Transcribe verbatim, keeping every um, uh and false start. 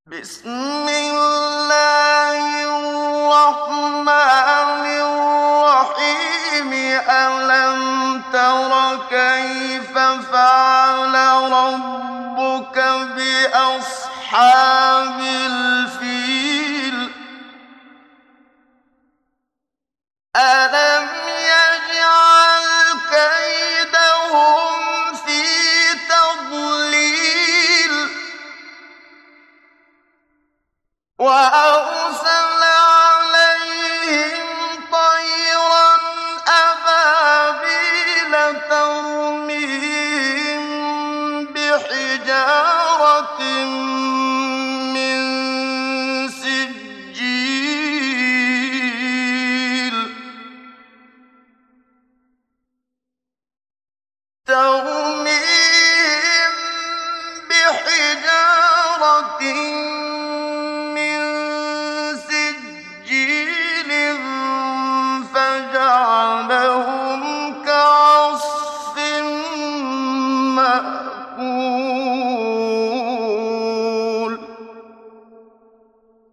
بسم الله الرحمن الرحيم. ألم تر كيف فعل ربك بأصحاب الفيل؟ ألم يجعل كيدهم في تضليل وأرسل